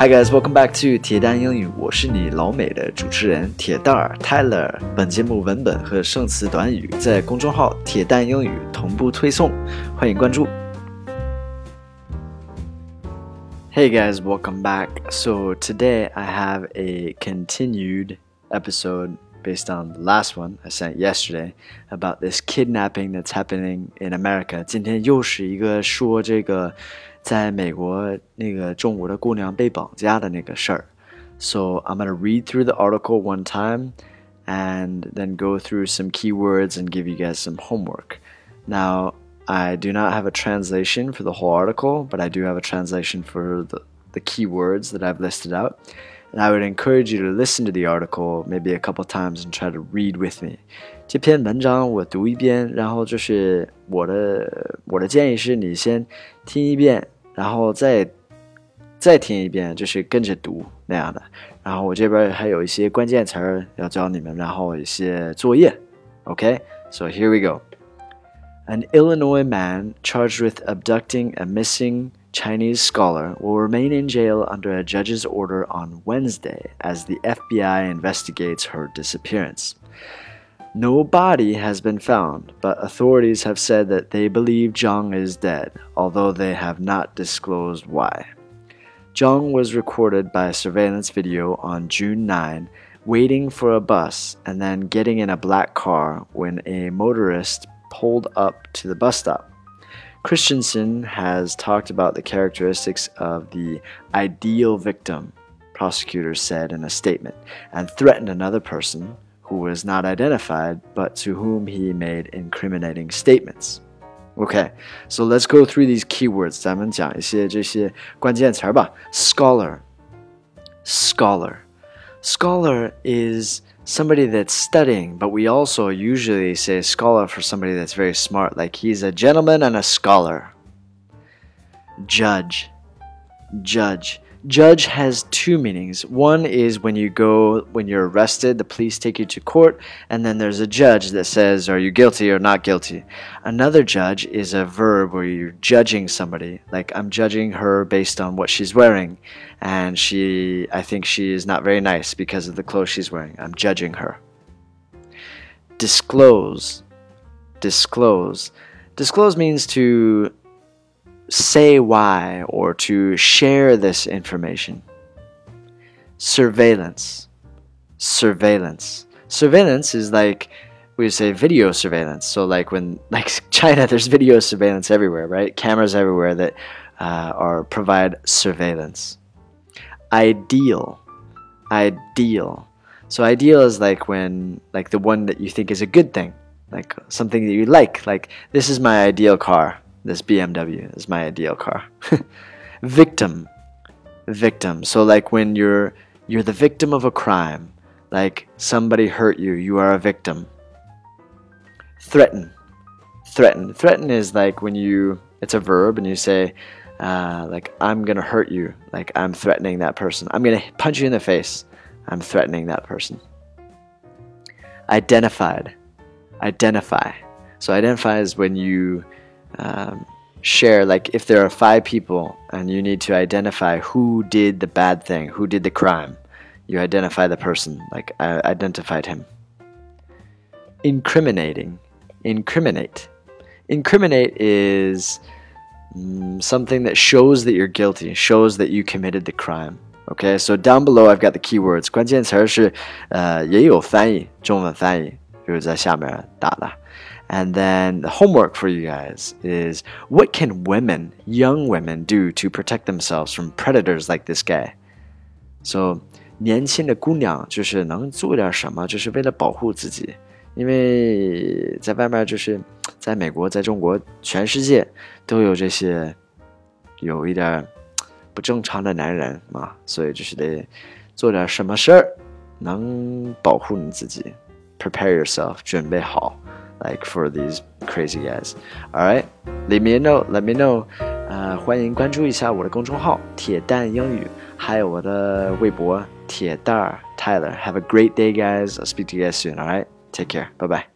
Hi guys, welcome back to 铁蛋英语，我是你老美的主持人铁蛋儿 Tyler。本节目文本和生词短语在公众号铁蛋英语同步推送，欢迎关注。Hey guys, welcome back. So today I have a continued episode based on the last one I sent yesterday about this kidnapping that's happening in America. 今天又是一个说这个在美国那个中国的姑娘被绑架的那个事儿。So I'm going to read through the article one time and then go through some keywords and give you guys some homework. Now, I do not have a translation for the whole article, but I do have a translation for the keywords that I've listed out. And I would encourage you to listen to the article maybe a couple times and try to read with me. 这篇文章我读一遍，然后就是我的建议是你先听一遍，然后再听一遍，就是跟着读那样的。然后我这边还有一些关键词儿要教你们，然后一些作业。Okay, so here we go. An Illinois man charged with abducting a missing Chinese scholar will remain in jail under a judge's order on Wednesday as the FBI investigates her disappearance. No body has been found, but authorities have said that they believe Zhang is dead, although they have not disclosed why. Zhang was recorded by a surveillance video on June 9, waiting for a bus and then getting in a black car when a motorist pulled up to the bus stop. Christensen has talked about the characteristics of the ideal victim, prosecutors said in a statement, and threatened another person who was not identified, but to whom he made incriminating statements. Okay, so let's go through these keywords. 咱们讲一些这些关键词吧。Scholar. Scholar is somebody that's studying, but we also usually say scholar for somebody that's very smart, like he's a gentleman and a scholar. Judge has two meanings. One is when you're arrested, the police take you to court, and then there's a judge that says, are you guilty or not guilty? Another judge is a verb where you're judging somebody. Like, I'm judging her based on what she's wearing, and I think she is not very nice because of the clothes she's wearing. I'm judging her. Disclose means to say why or to share this information. Surveillance is like we say video surveillance. So like China, there's video surveillance everywhere, right? Cameras everywhere that provide surveillance. Ideal. So ideal is like the one that you think is a good thing, like something that you like this is my ideal car. This BMW is my ideal car. Victim. So like when you're the victim of a crime, like somebody hurt you, you are a victim. Threaten is like when it's a verb and you say, like I'm gonna hurt you, like I'm threatening that person. I'm gonna punch you in the face. I'm threatening that person. Identify. So identify is when you share, like if there are 5 people and you need to identify who did the bad thing, who did the crime, you identify the person, like I identified him. Incriminate is something that shows that you're guilty, shows that you committed the crime. Okay, so down below I've got the keywords. 关键词是也有翻译，中文翻译就是在下面打的。And then the homework for you guys is, what can young women do to protect themselves from predators like this guy? So, 年轻的姑娘就是能做点什么，就是为了保护自己。因为在外面就是在美国，在中国，全世界都有这些有一点不正常的男人嘛，所以就是得做点什么事儿，能保护你自己。Prepare yourself, 准备好。Like for these crazy guys. Alright, leave me a note, let me know. 欢迎关注一下我的公众号铁蛋英语，还有我的微博铁蛋儿 Tyler. Have a great day, guys. I'll speak to you guys soon. Alright, take care. Bye bye.